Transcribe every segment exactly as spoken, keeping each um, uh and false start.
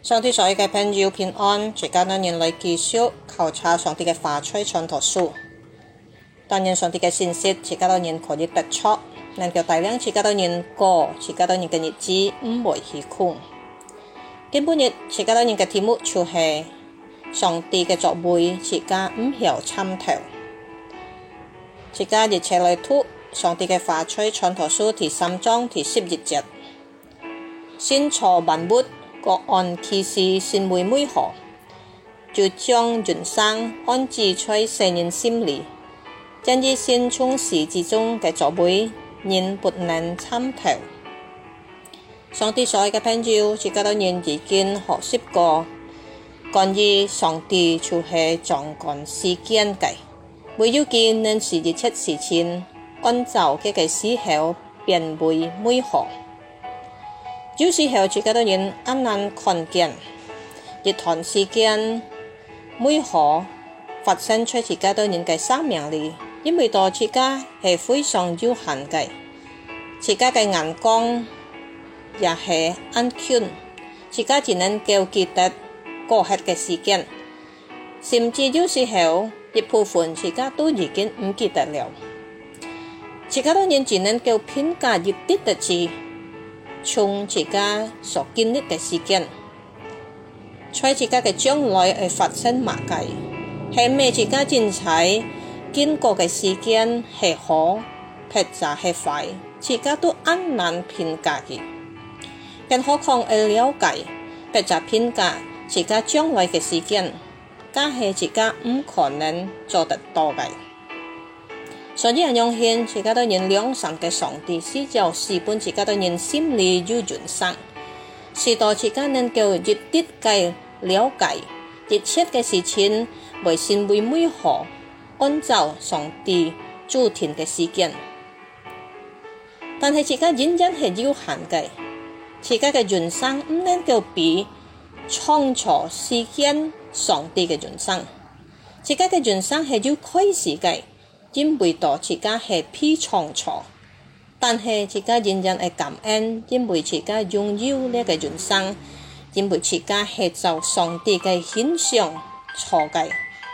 上帝所有嘅朋友平安，大家當然嚟繼續考察上帝嘅話語傳道書。當然上帝嘅信息，大家當然可以得出，能夠帶領大家當然過，大家當然嘅日子唔會虛空。今本日大家當然嘅題目就係上帝嘅作為，大家唔曉參透。大家一齊嚟讀上帝嘅話語傳道書第三章第十一節，先造萬物。各按其時善為美好，就將人生安置在世人心裡。因以先從始至終嘅作為，人不能參透。上帝所愛嘅朋友，大家當然已經學習過，關於上帝就係掌管世間嘅，唯有佢能使一切事情按照佢嘅時候變為美好。有時候大家當然啱啱看見一段時間美好發生在大家當然嘅生命裡，因為到大家係非常有限嘅，大家嘅眼光也係安全，大家只能夠記得過去嘅時間，甚至有時候一部分大家都已經唔記得了，大家當然只能夠評價一啲嘅字。從自家所經歷嘅事件，在自家嘅將來會發生乜嘢，係咪自家正在經過嘅事件係好，或者係壞，自家都很難評價嘅。更何況會了解或者評價自家將來嘅事件，更係自家唔可能做得到嘅。所以人相信自家當然良善嘅上帝是就使本自家當然心裡有人生，使到自家能夠一啲嘅了解一切嘅事情為善為美好，按照上帝主定嘅時間。但係自家仍然係有限嘅，自家嘅人生唔能夠比創造世間上帝嘅人生，自家嘅人生係要開始嘅。因為到自家係被創造，但係自家仍然係感恩，因為自家擁有呢個人生，因為自家係照上帝嘅形象造嘅。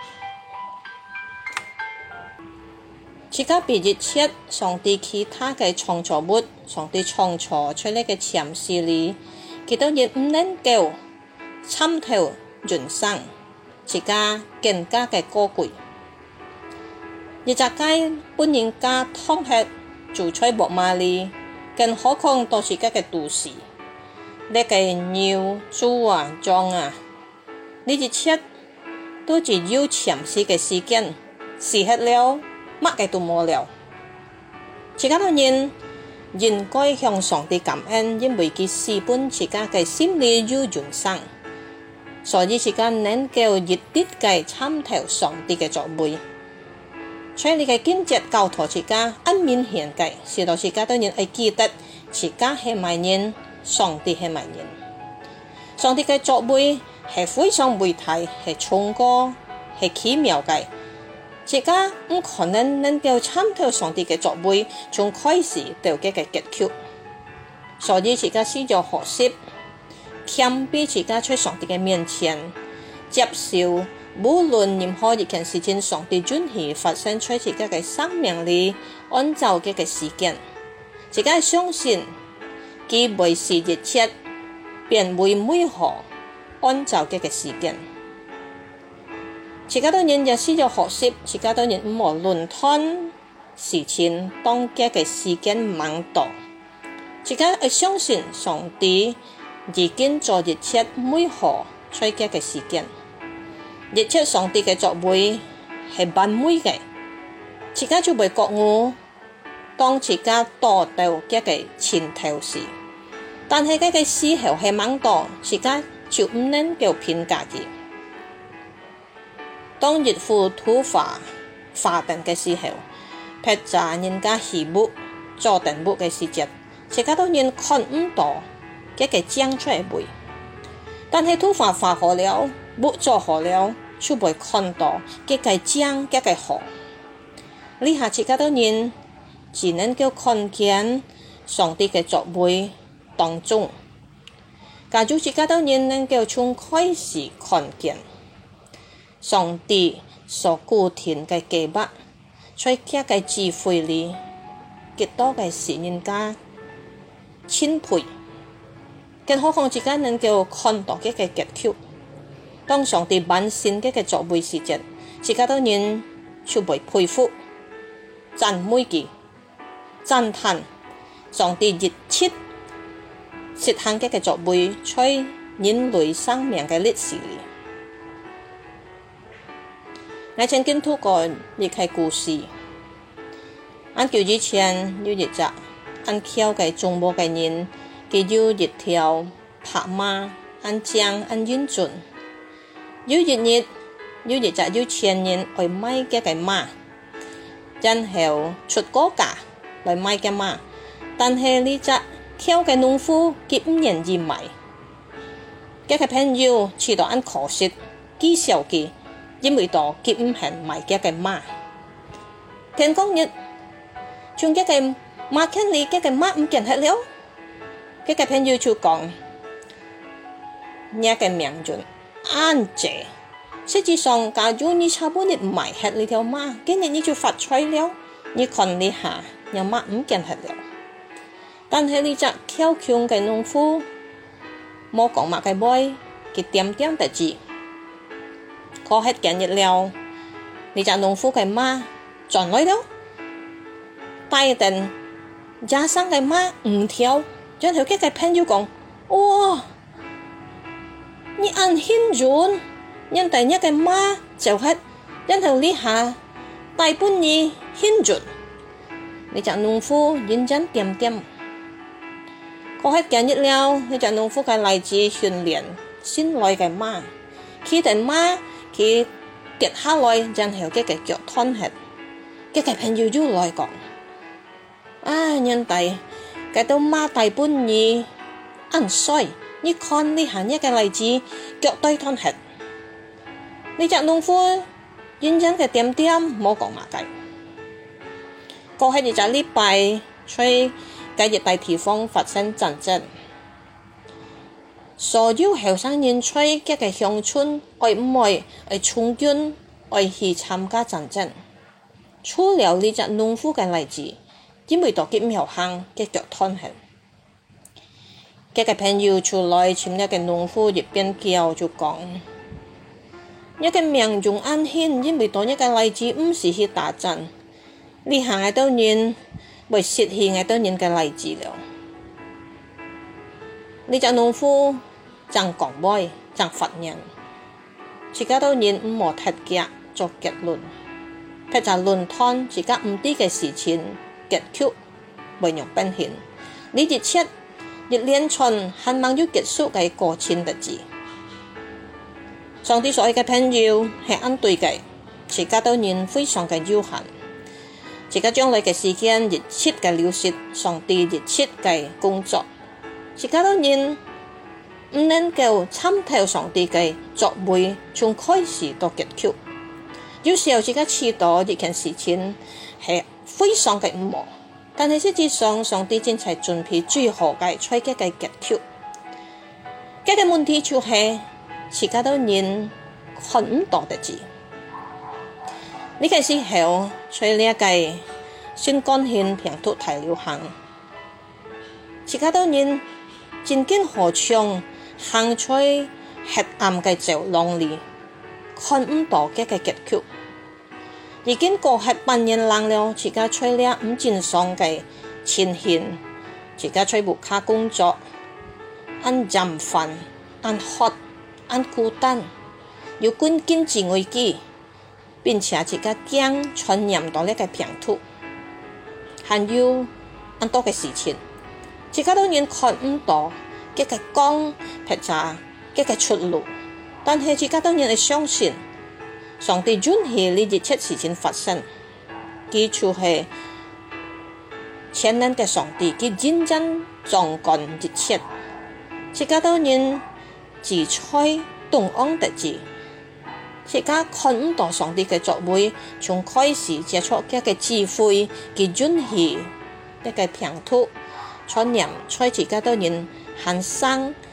自家比一切上帝其他嘅創造物，上帝創造出嚟嘅潛視裡，佢當然唔能夠參透人生，自家更加嘅高貴。一隻雞本人家湯吃做出木馬里，更何況到自家嘅都市，呢個牛、豬啊、羊啊，呢一切都只有潛視嘅時間，時刻了，乜嘅都冇了。自家當然應該向上帝感恩，因為佢使本自家嘅心裡有人生，所以自家能夠一啲嘅參透上帝嘅作為。在你嘅見節教導自家，很明顯嘅，使到自家當然會記得自家係乜人，上帝係乜人。上帝嘅作為係非常偉大，係崇高，係奇妙嘅。自家唔可能能夠參透上帝嘅作為，從開始到佢嘅結局。所以自家需要學習，謙卑自家在上帝嘅面前接受。無論任何一件事情，上帝准許發生在自家嘅生命裡，按照佢嘅時間，自家相信佢會使一切變為美好，按照佢嘅時間。自家當然也需要學習，自家當然唔好論斷事情當佢嘅時間忙到，自家要相信上帝已經做一切美好，在佢嘅時間。一切上帝嘅作為係完美嘅，自家就會覺悟，當自家達到佢嘅前頭時，但係佢嘅時候係忙到，自家就唔能夠評價佢。當日付土法發定嘅時候，撇炸人家起木做定木嘅時節，自家當然看唔到佢嘅將出嚟會，但係土法發好了，木做好了。就會看到佢嘅將佢嘅好，呢下自家當然只能夠看見上帝嘅作為當中， 假如自家都人能夠從開始看見上帝所固定嘅計劃，在佢嘅智慧裏，極多嘅是人家欽佩，更何況自家能夠看到佢嘅結局。當上帝萬善嘅嘅作為時節，自家都人就會佩服、讚美佢、讚嘆上帝熱切實行嘅嘅作為，在人類生命嘅歷史裏。我曾經讀過一個故事，按叫以前有一隻按橋嘅中國嘅人，佢有一條白馬，按將按英俊。有一日，有一隻有錢人來買嘅嘅馬，然後出高價來買嘅馬，但係呢隻橋嘅農夫佢唔願意買。嘅嘅朋友知道按可惜，譏笑佢。因為到佢唔肯買嘅嘅馬，天光日，從嘅嘅馬圈裏嘅嘅馬唔見去了，嘅嘅朋友就講：呢個命運安謝，實際上假如你差不多買去呢條馬，今日你就發財了。你看你下，有馬唔見去了，但係呢隻橋窮嘅農夫冇講馬嘅妹，佢點點地知。過hết幾日了，呢隻農夫嘅馬轉來了，帶定加上嘅馬五條，然後佢嘅朋友講：哇，你按輕準，人哋一嘅馬就係，然後呢下大半你輕準，呢隻農夫認真點點。過hết幾日了，呢隻農夫嘅嚟自訓練新來嘅馬，佢哋馬。佢跌下來，然後佢嘅腳斷血，佢嘅朋友又來講：啊，人哋佢到馬大半年按衰，你看呢下一個例子，腳都斷血。呢隻農夫認真嘅點點冇講馬計。過去一隻禮拜，在嗰一帶地方發生戰爭。所有後生人在各個鄉村，愛唔愛愛從軍，愛去參加戰爭。除了呢隻農夫嘅例子，因為到佢唔有行，佢腳斷血。佢嘅朋友出來請一個農夫一邊叫就講：一個命中安險，因為到一個例子唔是去打仗，你行喺度人會失去喺度人嘅例子了。呢隻農夫正講話，正發言，自家都人唔冇特價作結論，佢就論斷自家唔知嘅事情結局，為讓變現。呢一切一連串盼望要結束嘅過程日子。上帝所愛嘅朋友係按對嘅，自家都人非常嘅有限，自家將來嘅時間熱切嘅流逝，上帝熱切嘅工作。自家都人唔能夠參透上帝嘅作為，從開始到結局。有時候自家知道一件事情係非常嘅唔好，但係實際上上帝正係準備最好嘅最佳嘅結局。嘅個問題就係自家都人看唔到的字。呢個時候，在呢一個新干線平土大流行，自家都人真經何嘗行在黑暗嘅走廊裏，看唔到嘅個結局。已經過係半年lang了，自家在呢唔正常嘅前線，自家在無卡工作，按飲飯，按喝，按孤單，有關經濟危機，並且自家驚傳染到呢個平土，還有很多嘅事情。自家都人看唔到嘅個光或者嘅個出路，但係自家都人係相信上帝允許呢一切事情發生，佢就係全能嘅上帝，佢認真掌管一切。自家都人自在東安得知，自家看唔到上帝嘅作為，從開始接觸嘅個智慧，佢允許一個平土。傳染在自家都人行生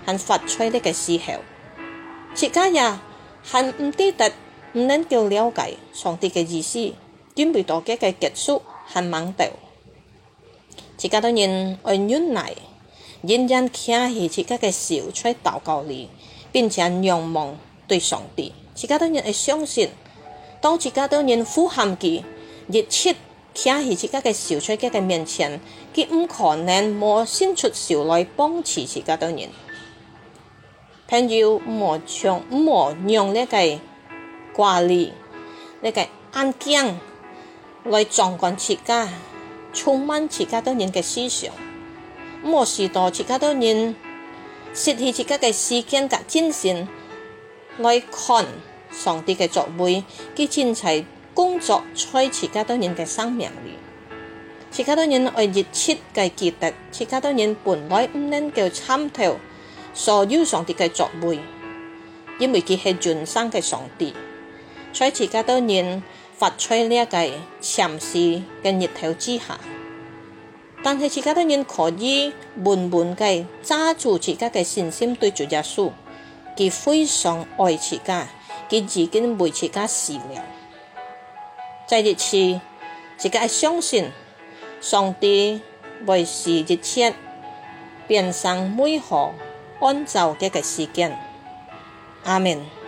和發出呢個時候，自家也還唔記得唔能夠了解上帝嘅意思，準備到嘅嘅結束和盲道。自家當然愛忍耐，仍然徛喺自家嘅小吹禱告裏，並且仰望對上帝。自家當然會相信，當自家當然呼喊佢，熱切徛喺自家嘅小吹嘅面前，佢唔可能冇伸出手來幫持自家當然。朋友唔將唔讓呢個掛慮、呢個眼鏡來掌管自家，充滿自家當然嘅思想，唔使到自家當然失去自家嘅時間及精神來看上帝嘅作為，佢真係工作在自家當然嘅生命裏。自家當然愛熱切嘅記得，自家當然本來唔能夠參透所有上帝嘅作為，因為佢係全能嘅上帝，在自家當然發出呢一個潛視嘅日頭之下，但係自家當然可以悶悶嘅揸住自家嘅信心對住耶穌，佢非常愛自家，佢已經為自家死了。在呢次，自家相信上帝會使一切變成美好安照嘅嘅時間。阿們。